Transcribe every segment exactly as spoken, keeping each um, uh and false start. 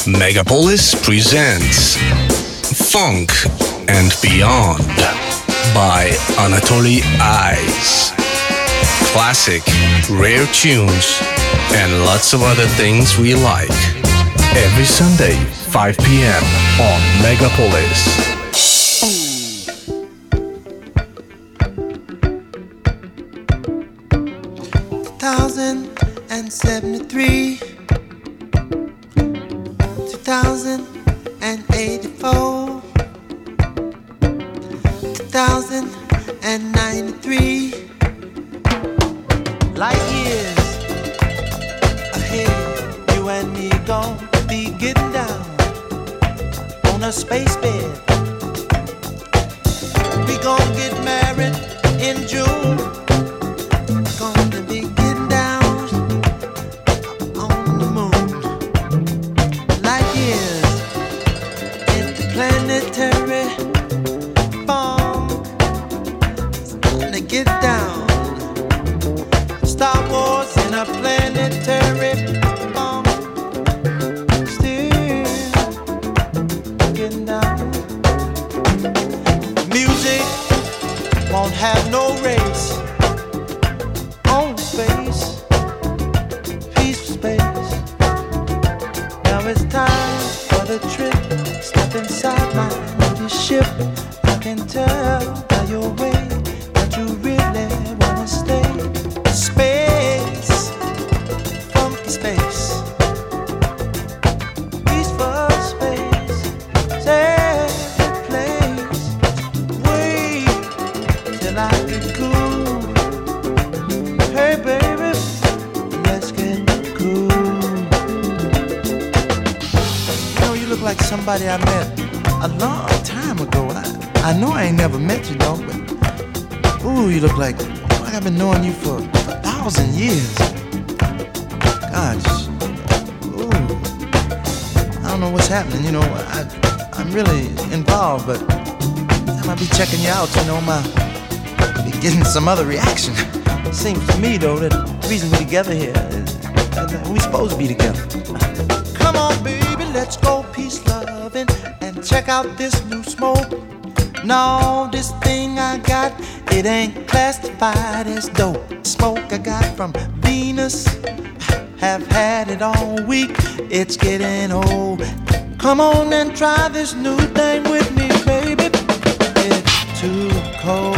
Megapolis presents Funk and Beyond by Anatoly Eyes. Classic, rare tunes, and lots of other things we like. Every Sunday, five p.m. on Megapolis. one thousand seventy-three, two thousand eighty-four, two thousand ninety-three, light years ahead, you and me gon' be getting down on a space bed. We gon' get married in June. Gonna be getting down on the moon. Light years interplanetary funk. It's gonna get down. Star Wars in a planetary funk. Still getting down. Music won't have no race. On space, peaceful space. Now it's time for the trip. Step inside my mighty ship. I can tell by your way that you really wanna stay. Space, funky space, peaceful space, safe place. Wait till I get cool. Hey baby, let's get cool. You know, you look like somebody I met a long time ago. I, I know I ain't never met you, though, but ooh, you look like, like I've been knowing you for a thousand years. Gosh, ooh, I don't know what's happening. You know, I, I'm really involved, but every time I be checking you out, you know, my be getting some other reaction. Seems to me, though, that the reason we're together here is that we're supposed to be together. Come on, baby, let's go peace loving and check out this new smoke. No, this thing I got, it ain't classified as dope. Smoke I got from Venus, have had it all week. It's getting old. Come on and try this new thing with me, baby. It's too cold.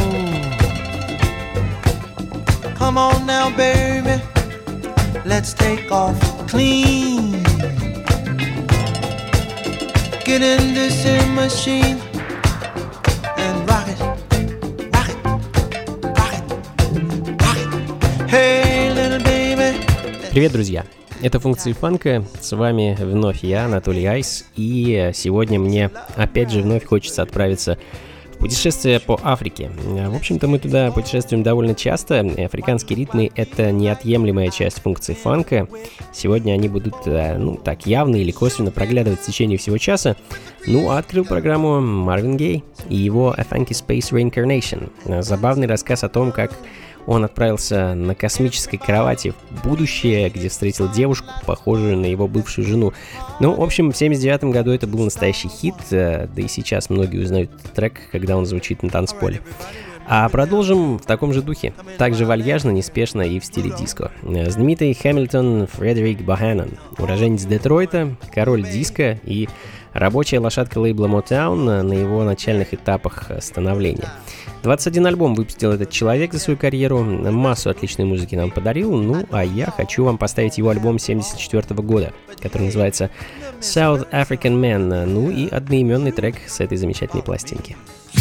Come on now, baby, let's take off clean. Get in this in machine and rock it, rock it, rock it, rock it. Hey, little baby. Привет, друзья! Это функции фанка, с вами вновь я, Анатолий Айс, и сегодня мне опять же вновь хочется отправиться путешествие по Африке. В общем-то, мы туда путешествуем довольно часто. Африканские ритмы — это неотъемлемая часть функции фанка. Сегодня они будут, ну, так явно или косвенно проглядывать в течение всего часа. Ну, а открыл программу Марвин Гей и его A Funky Space Reincarnation. Забавный рассказ о том, как он отправился на космической кровати в будущее, где встретил девушку, похожую на его бывшую жену. Ну, в общем, в семьдесят девятом году это был настоящий хит, да и сейчас многие узнают этот трек, когда он звучит на танцполе. А продолжим в таком же духе, также вальяжно, неспешно и в стиле диско. Знаменитый Хэмилтон Фредерик Боханан, уроженец Детройта, король диско и рабочая лошадка лейбла Motown на его начальных этапах становления. двадцать один альбом выпустил этот человек за свою карьеру, массу отличной музыки нам подарил, ну а я хочу вам поставить его альбом семьдесят четвёртого года, который называется South African Man, ну и одноименный трек с этой замечательной пластинки.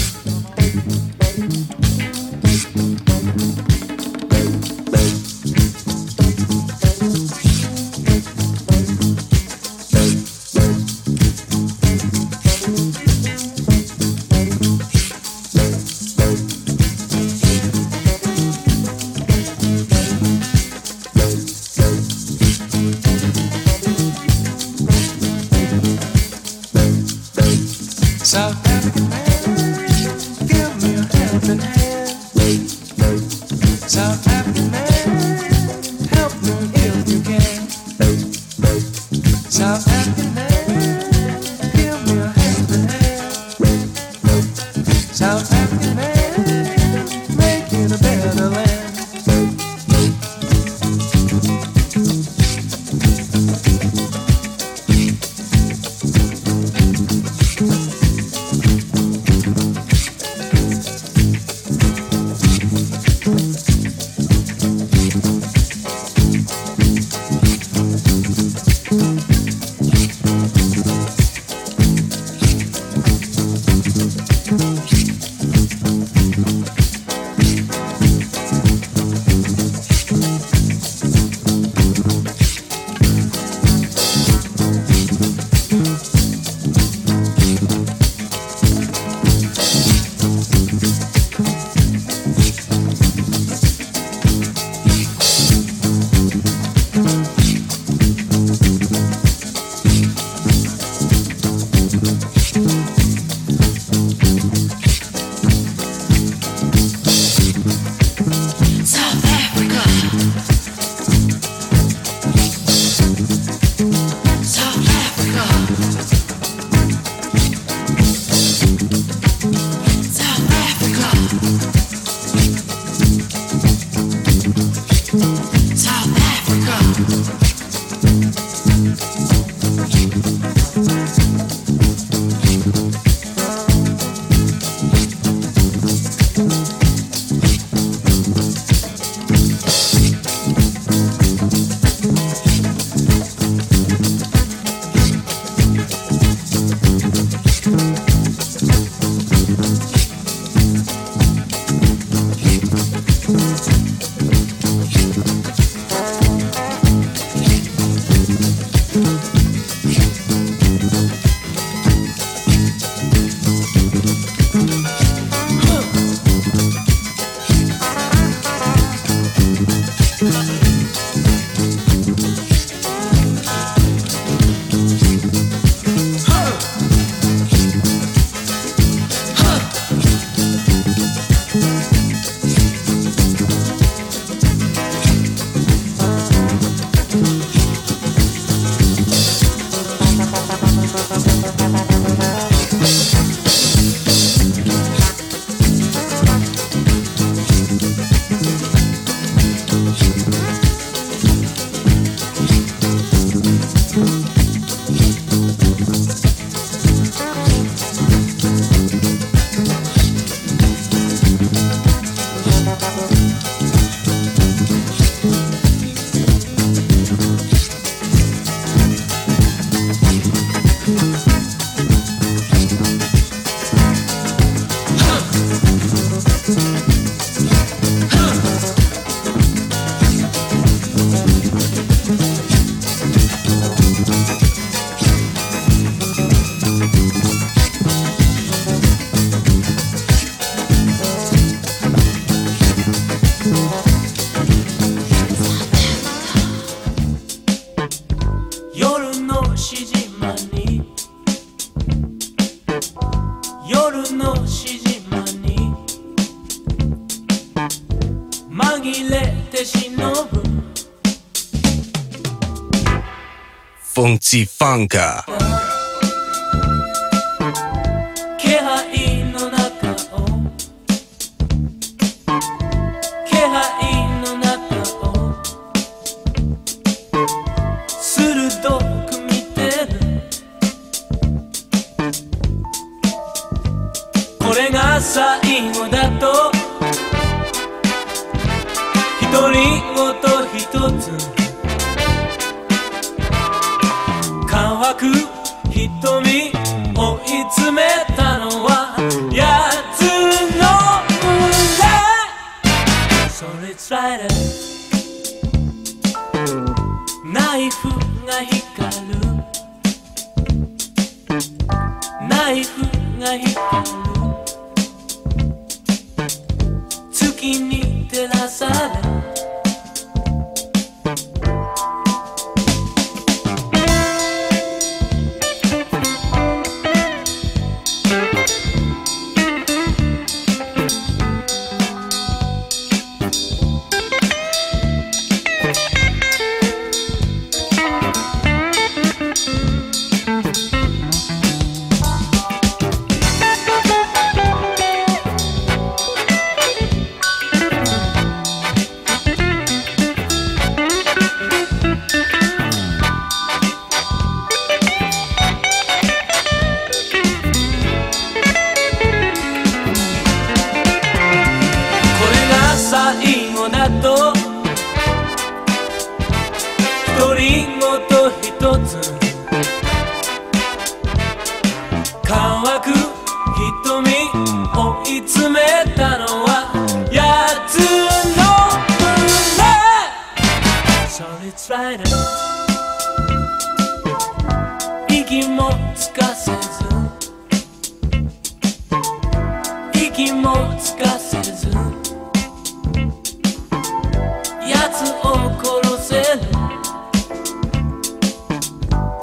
South African man, give me a helping hand. South African man, help me if you can. South African man. Funky Funka. 「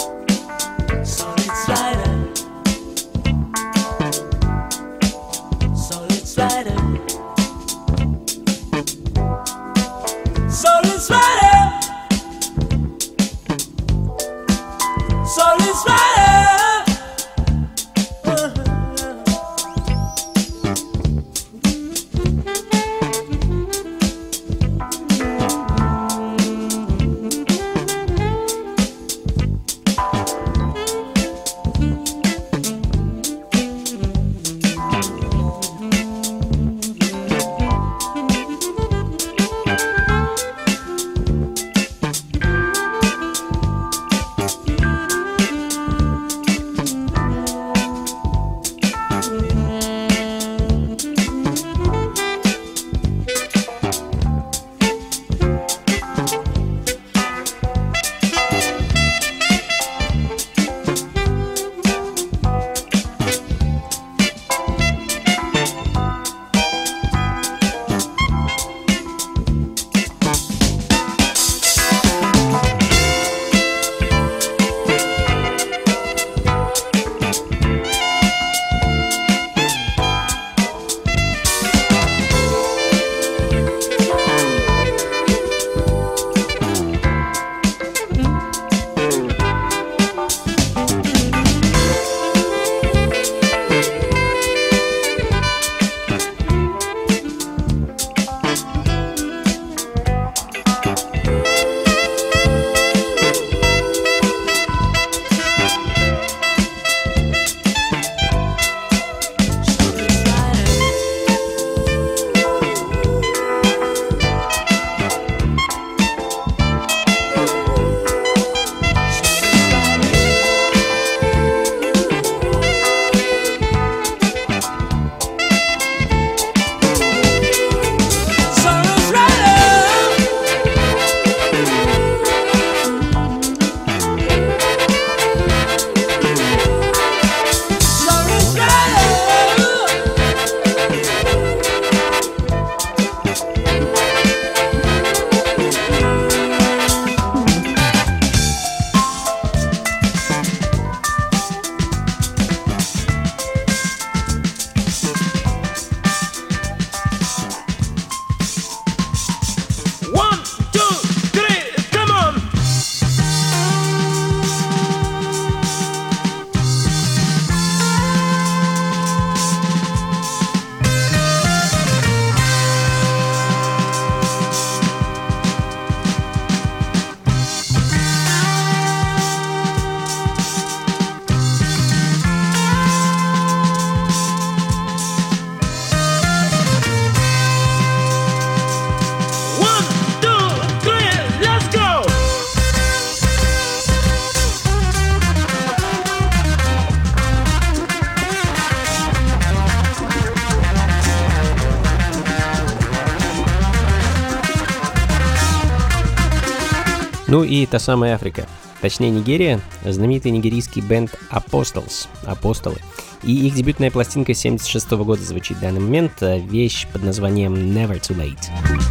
Ну и та самая Африка, точнее Нигерия, знаменитый нигерийский бенд Apostles, Апостолы. И их дебютная пластинка семьдесят шестого года звучит в данный момент, вещь под названием Never Too Late.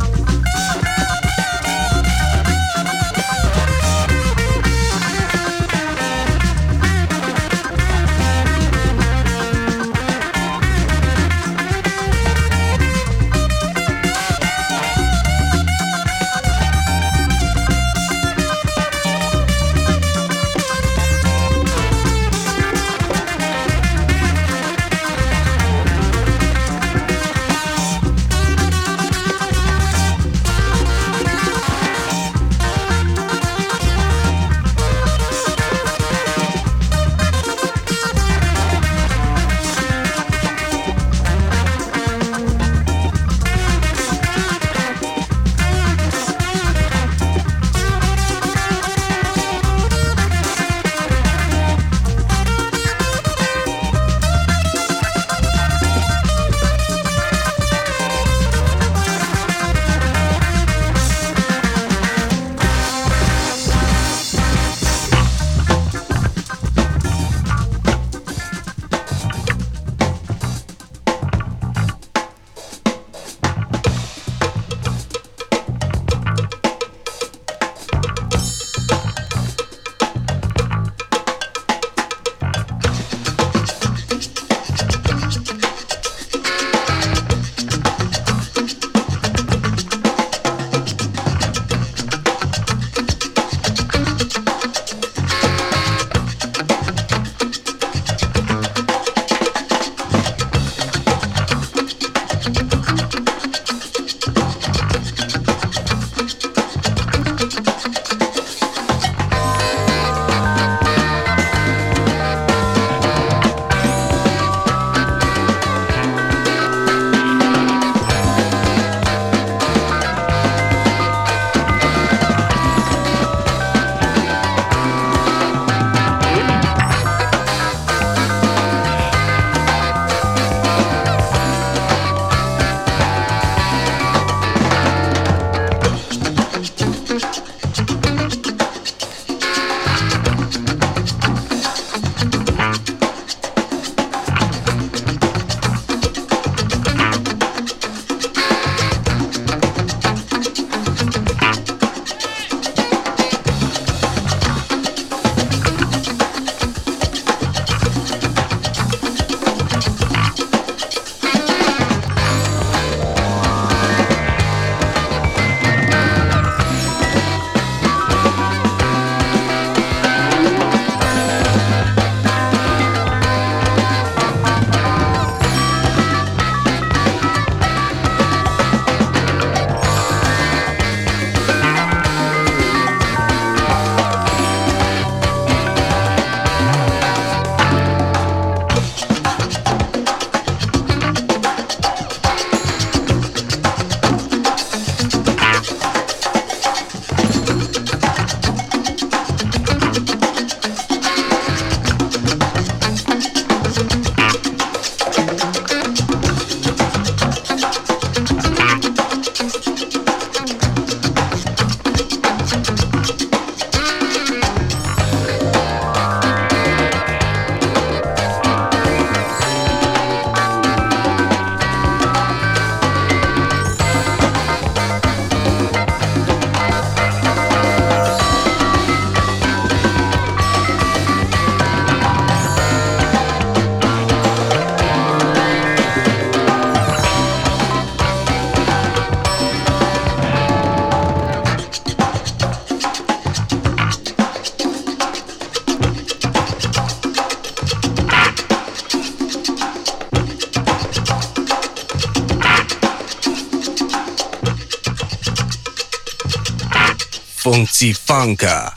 Funky Funka.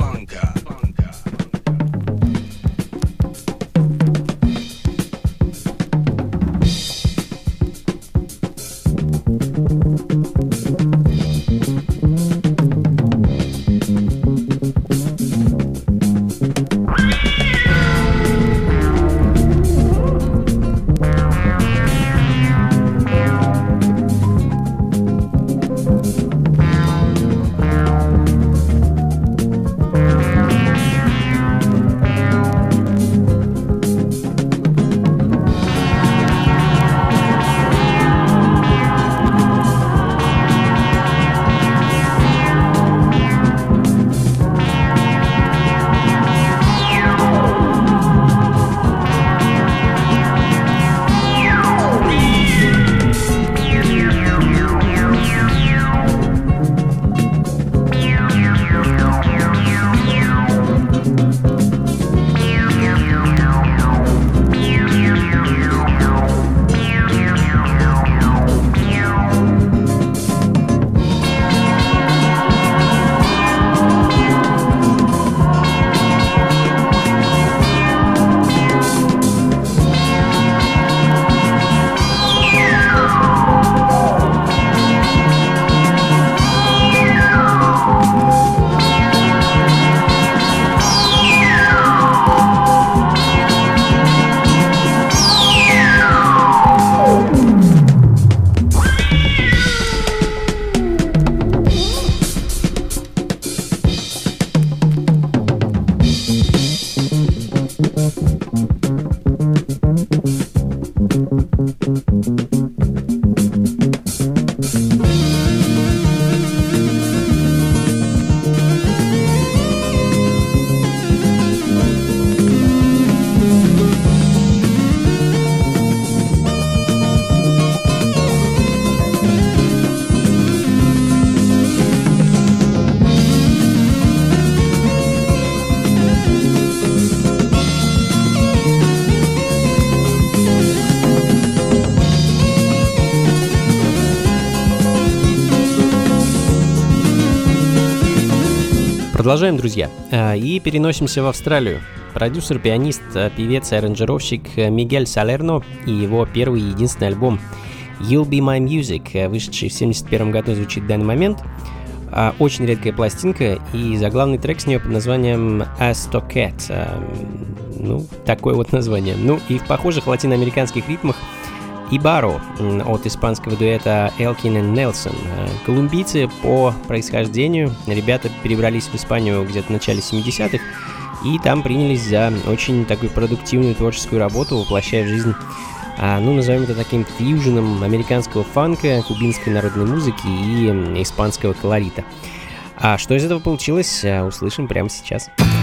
Продолжаем, друзья, и переносимся в Австралию. Продюсер, пианист, певец и аранжировщик Мигель Салерно и его первый и единственный альбом You'll Be My Music, вышедший в семьдесят первом году, звучит в данный момент. Очень редкая пластинка, и заглавный трек с нее под названием Astocat. Ну, такое вот название. Ну, и в похожих латиноамериканских ритмах Ибаро от испанского дуэта Элкин и Нельсон. Колумбийцы по происхождению, ребята перебрались в Испанию где-то в начале семидесятых, и там принялись за очень такую продуктивную творческую работу, воплощая в жизнь, ну, назовем это таким фьюженом американского фанка, кубинской народной музыки и испанского колорита. А что из этого получилось, услышим прямо сейчас.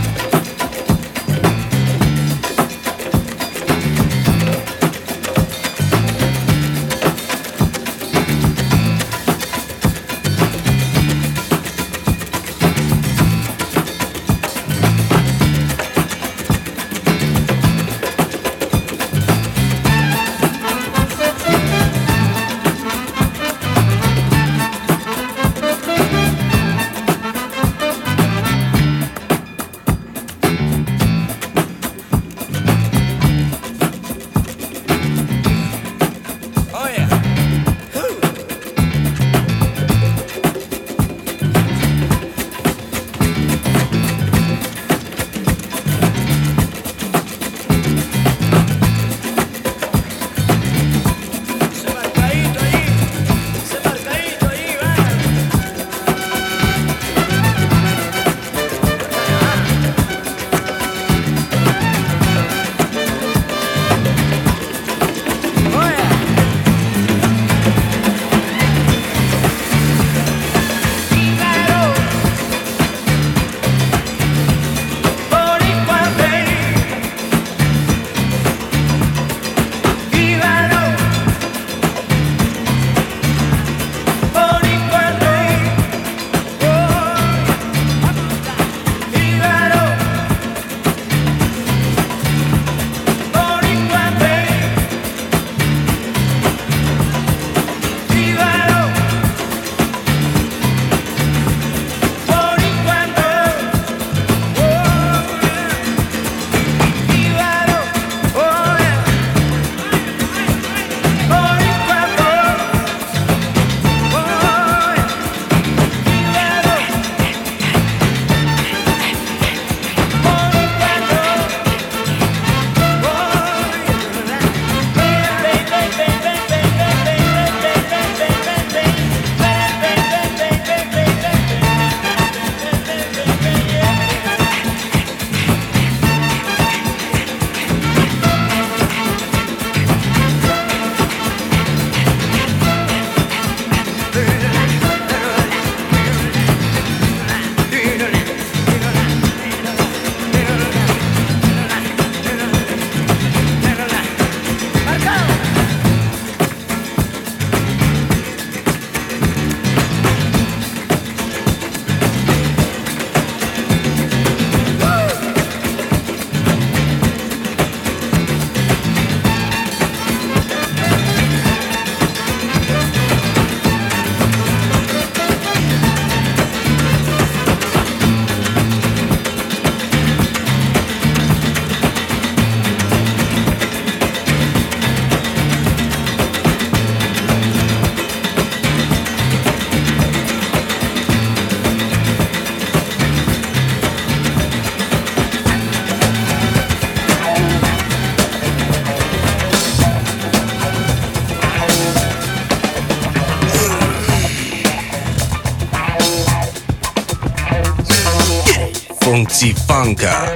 Funky Funka.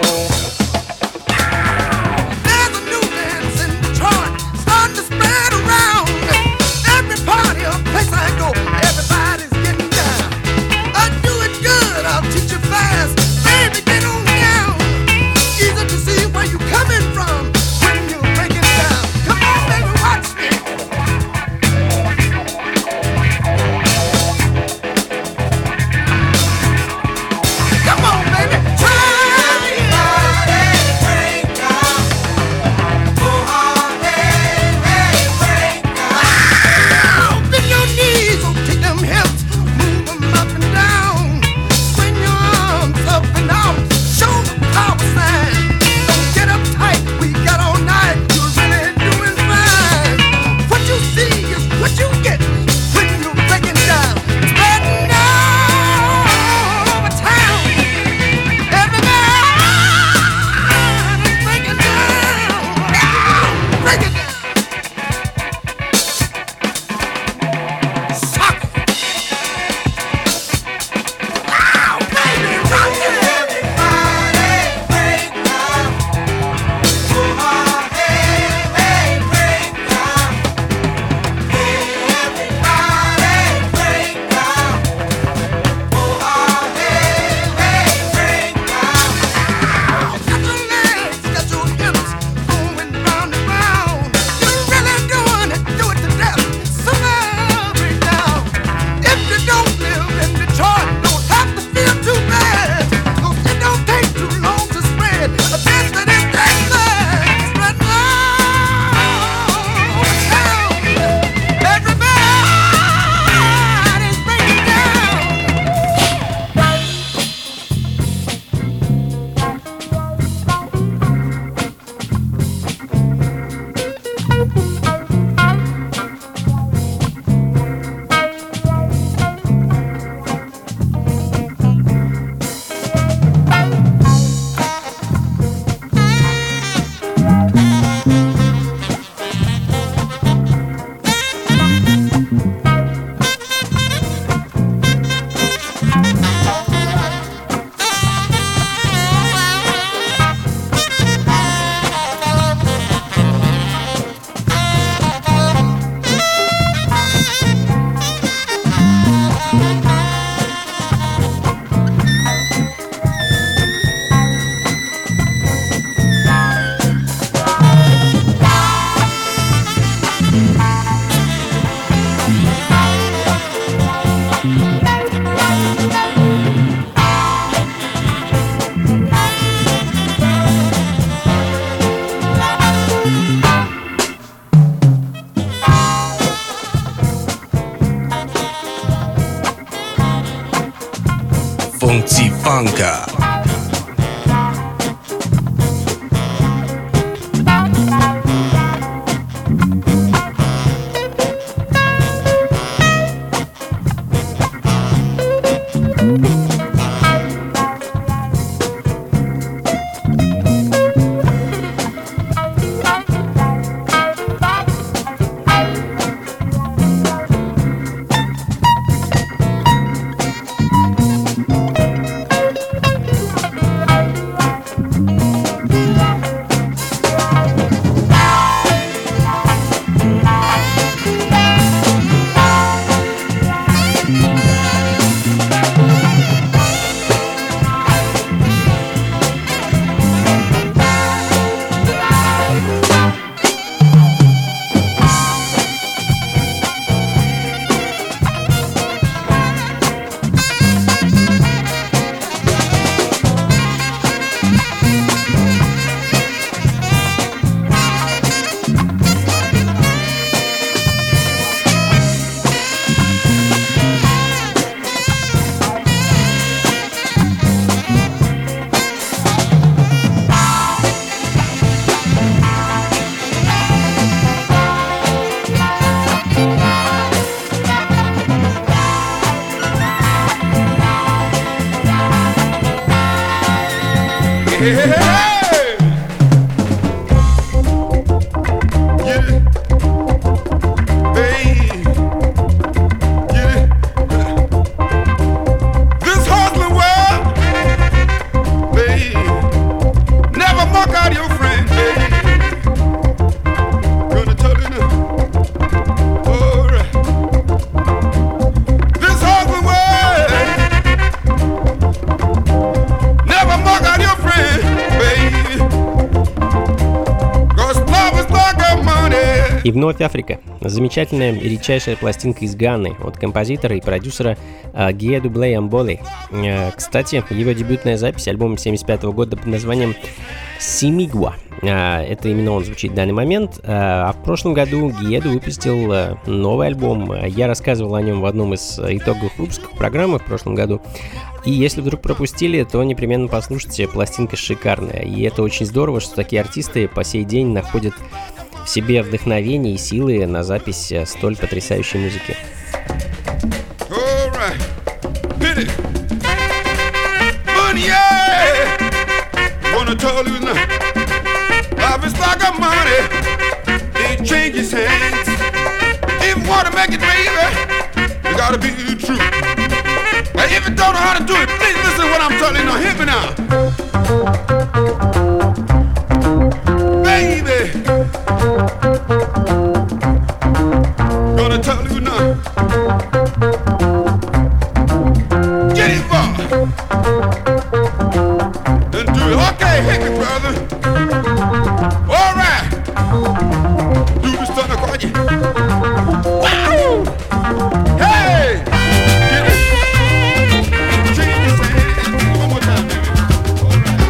Come on, baby, try. Funka. И вновь Африка. Замечательная и редчайшая пластинка из Ганы от композитора и продюсера Гиеду Блей Амболи. Кстати, его дебютная запись, альбом семьдесят пятого года под названием «Симигуа». Это именно он звучит в данный момент. А в прошлом году Гиеду выпустил новый альбом. Я рассказывал о нем в одном из итоговых выпусков программы в прошлом году. И если вдруг пропустили, то непременно послушайте, пластинка шикарная. И это очень здорово, что такие артисты по сей день находят в себе вдохновение и силы на запись столь потрясающей музыки. Gonna tell you now. Get it, boy. Then do it. Okay, hit me, brother. All right. Do this thunder call you. Wow. Hey. Get it. Change your hands. One more time, baby. All right.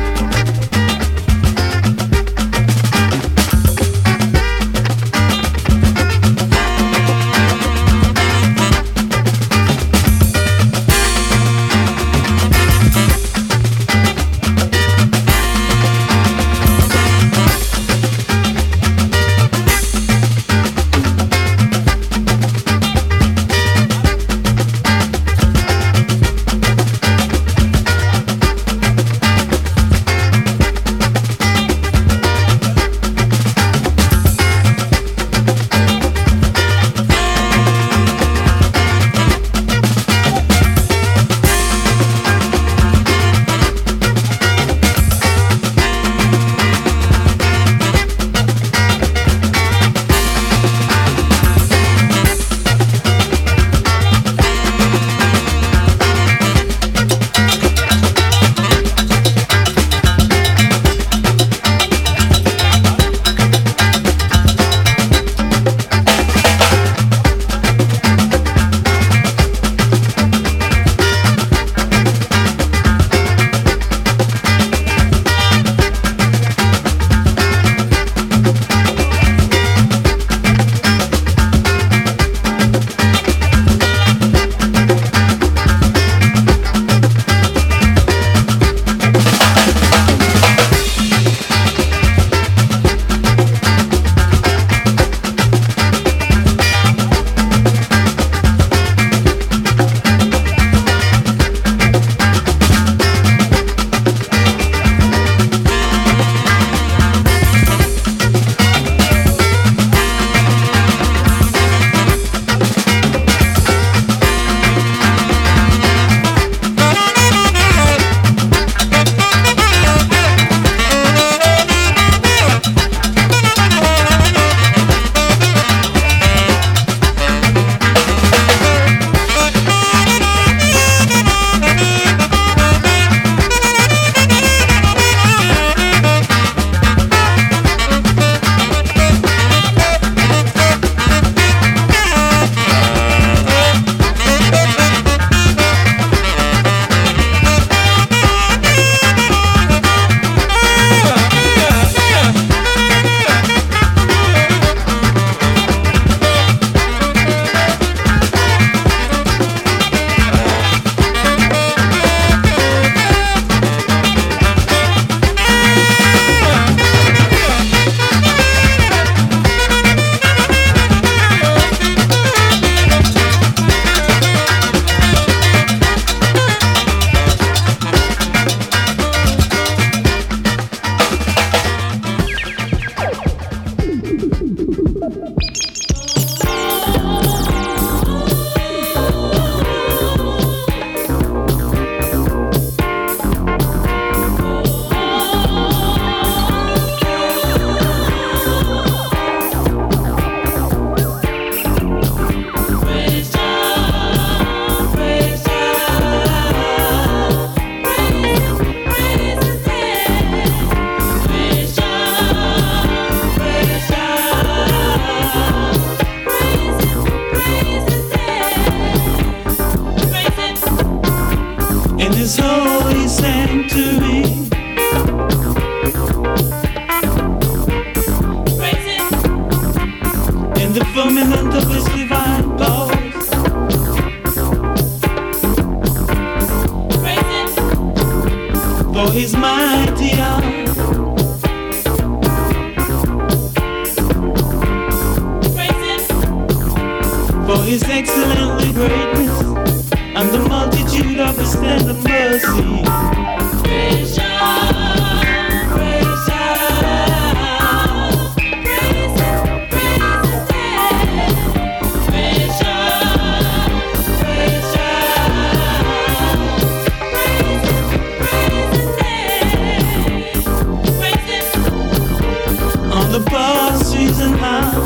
His excellently greatness and the multitude of His tender mercy. Praise Jah, praise Jah, praise Him, praise His name. Praise Jah, praise Jah, praise Him, praise His name. Praise Him on the pastures and how.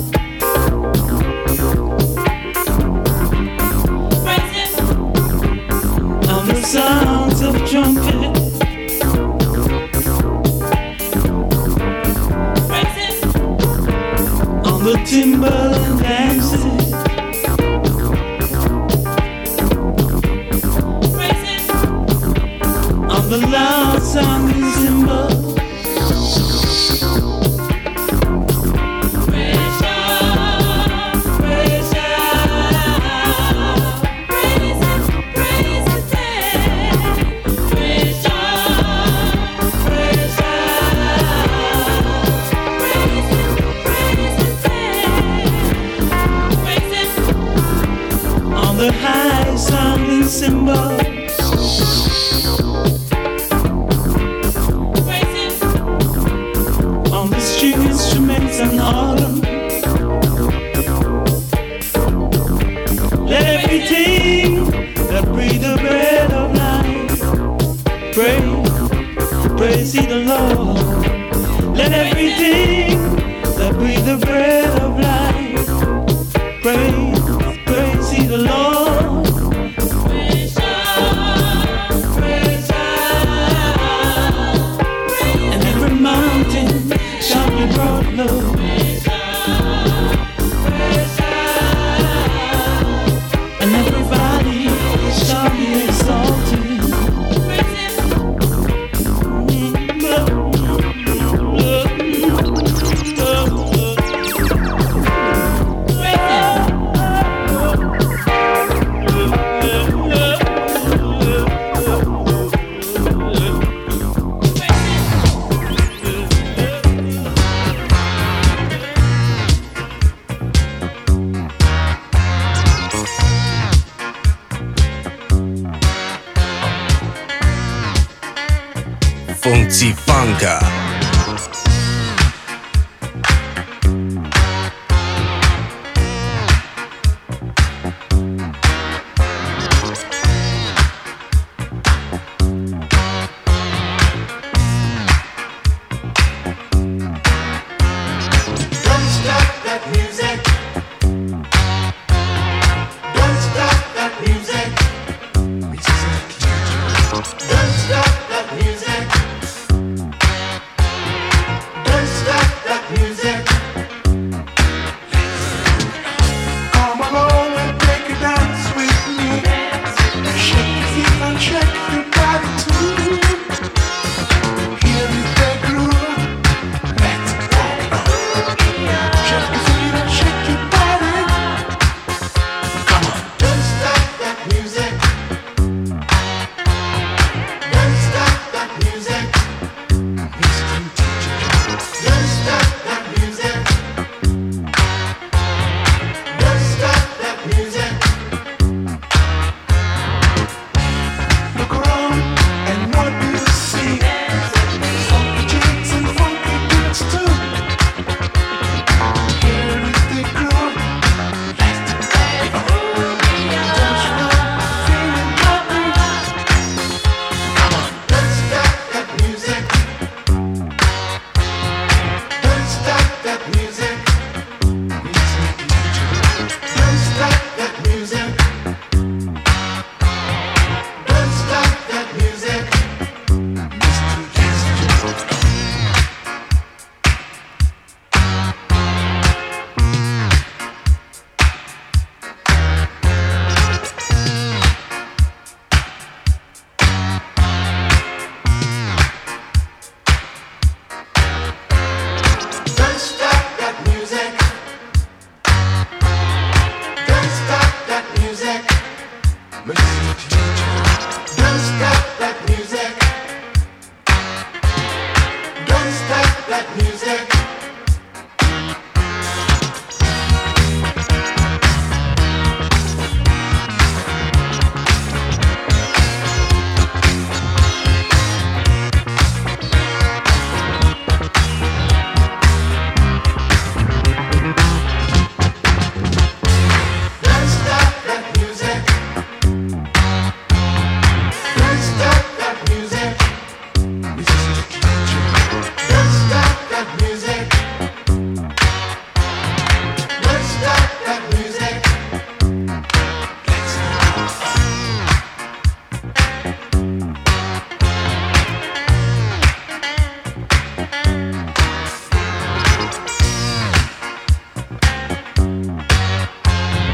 Sounds of trumpet, praising on the timbaland dances, praising on the loud sounding cymbals. The high sounding cymbals, praising on the string instruments and autumn. Let everything that breathe the breath of life praise, praise ye the Lord. Let everything that breathe the breath of life praise, praise ye the Lord. Brought low. And everybody shall be exalted. Funky-Funka.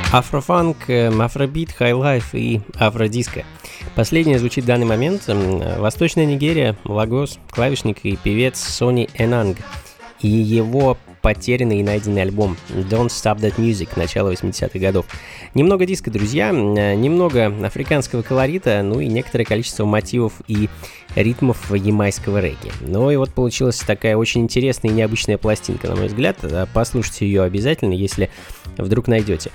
Афрофанк, афробит, хайлайф и афродиско. Последнее звучит в данный момент. Восточная Нигерия, Лагос, клавишник и певец Сони Энанг и его потерянный и найденный альбом Don't Stop That Music начала восьмидесятых годов. Немного диска, друзья, немного африканского колорита, ну и некоторое количество мотивов и ритмов ямайского регги. Ну и вот получилась такая очень интересная и необычная пластинка, на мой взгляд. Послушайте ее обязательно, если вдруг найдете.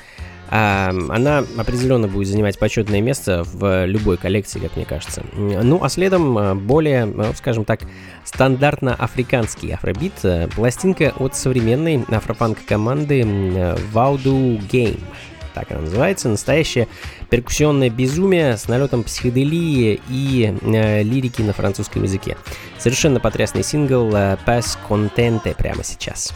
Она определенно будет занимать почетное место в любой коллекции, как мне кажется. Ну, а следом более, скажем так, стандартно-африканский афробит. Пластинка от современной афрофанк-команды Voodoo Game. Так она называется. Настоящее перкуссионное безумие с налетом психоделии и э, лирики на французском языке. Совершенно потрясный сингл Pas Contente прямо сейчас.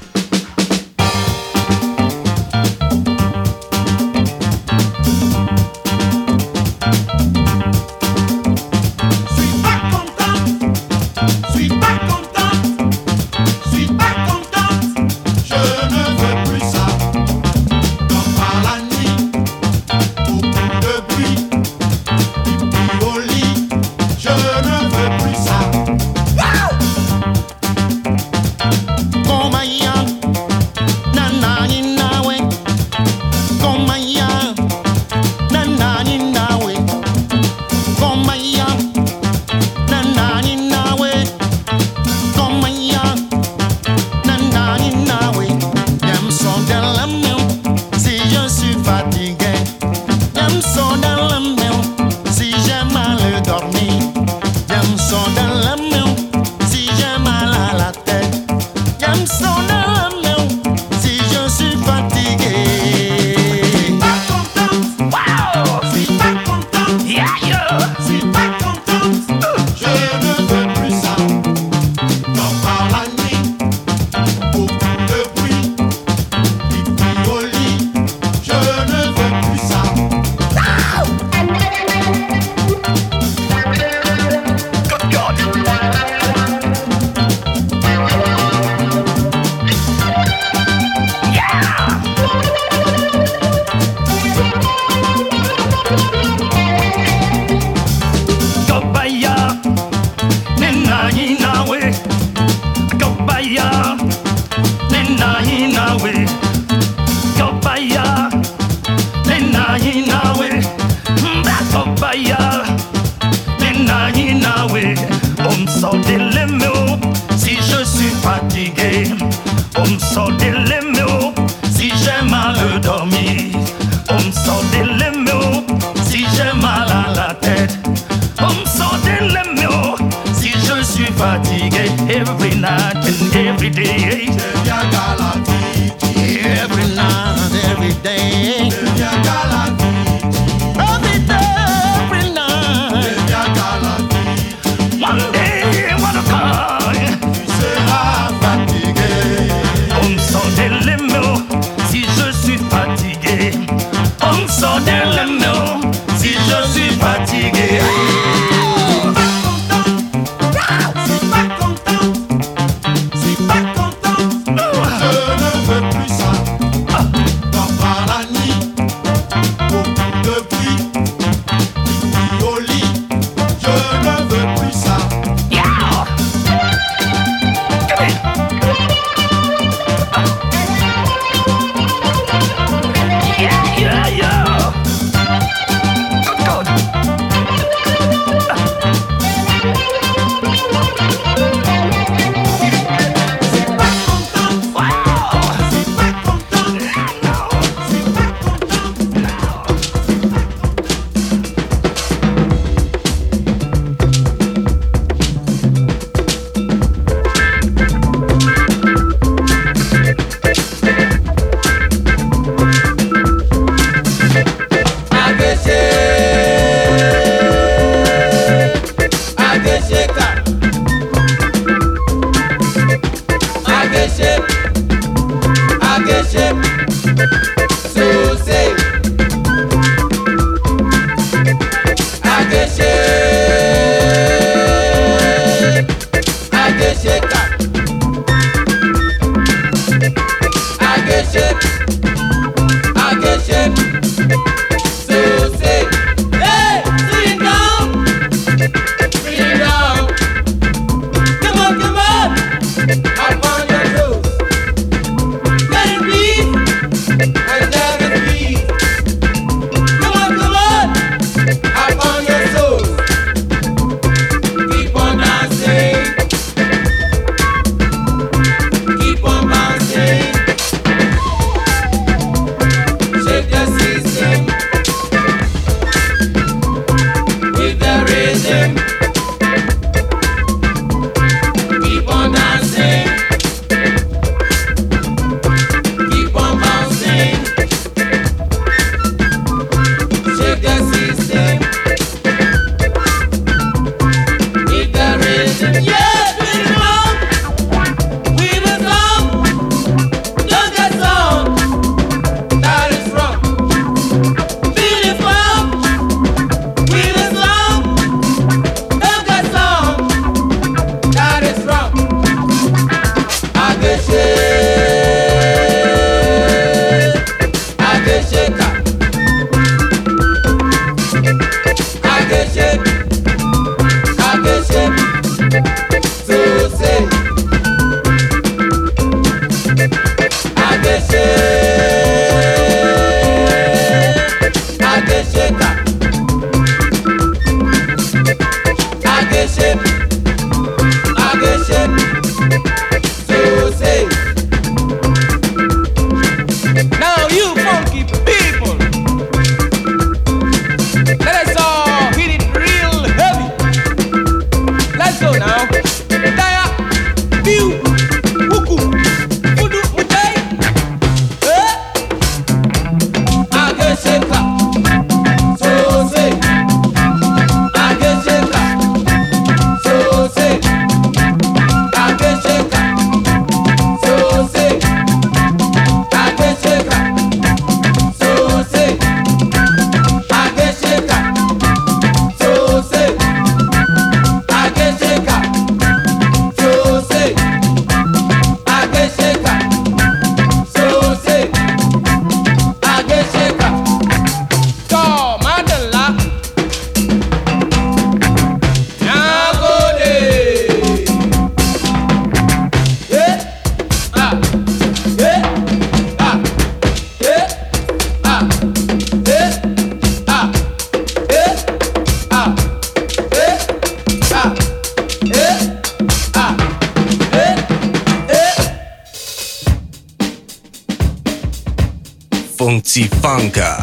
I get shit. Funky-Funka.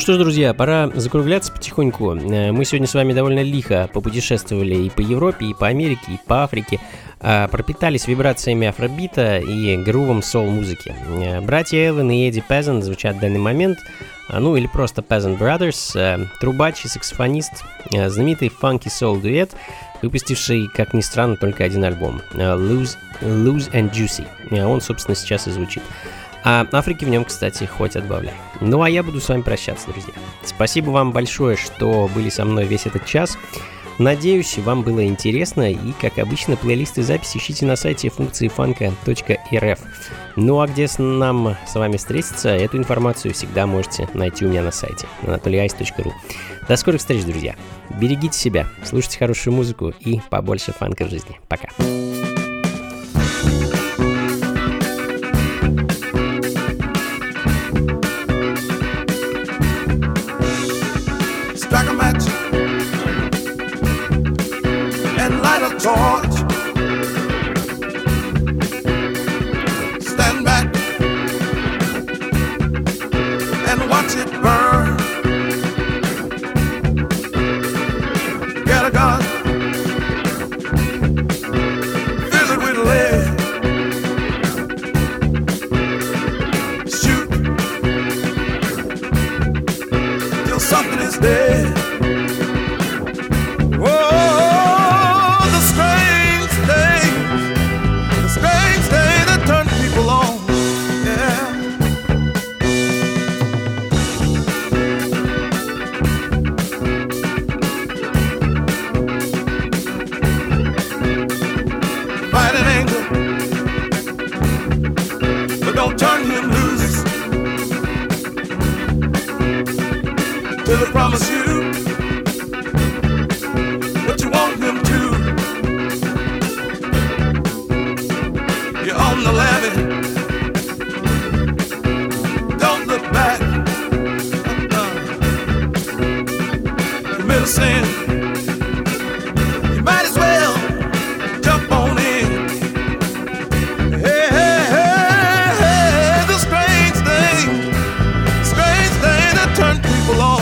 что ж, друзья, пора закругляться потихоньку. Мы сегодня с вами довольно лихо попутешествовали и по Европе, и по Америке, и по Африке. Пропитались вибрациями афробита и грувом соул-музыки. Братья Эллен и Эдди Пезант звучат в данный момент, ну или просто Peasant Brothers, трубач и саксофонист, знаменитый фанки-соул-дуэт, выпустивший, как ни странно, только один альбом, Loose, Loose and Juicy. Он, собственно, сейчас и звучит. А Африки в нем, кстати, хоть отбавляй. Ну а я буду с вами прощаться, друзья. Спасибо вам большое, что были со мной весь этот час. Надеюсь, вам было интересно, и, как обычно, плейлисты записи ищите на сайте функции фанка точка эр эф. Ну а где с нам с вами встретиться, эту информацию всегда можете найти у меня на сайте анатолий айс точка ру. До скорых встреч, друзья. Берегите себя, слушайте хорошую музыку и побольше фанка в жизни. Пока. Strike a match and light a torch. Stand back and watch it burn. Get a gun, fill it with lead. Shoot till something is dead. Till I promise you what you want him to. You're on the levee, don't look back. Uh-uh. Commit a sin, you might as well jump on in. Hey, hey, hey, hey, the strange thing, strange thing that turn people on.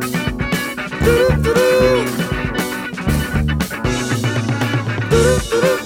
Do-do-do-do.